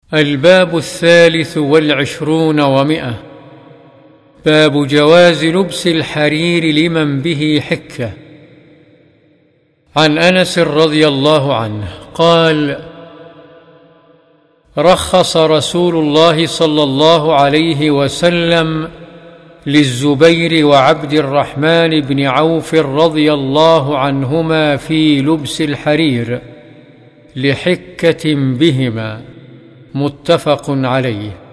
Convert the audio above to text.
الباب 23 و100. باب جواز لبس الحرير لمن به حكة. عن أنس رضي الله عنه قال: رخص رسول الله صلى الله عليه وسلم للزبير وعبد الرحمن بن عوف رضي الله عنهما في لبس الحرير لحكة بهما، متفق عليه.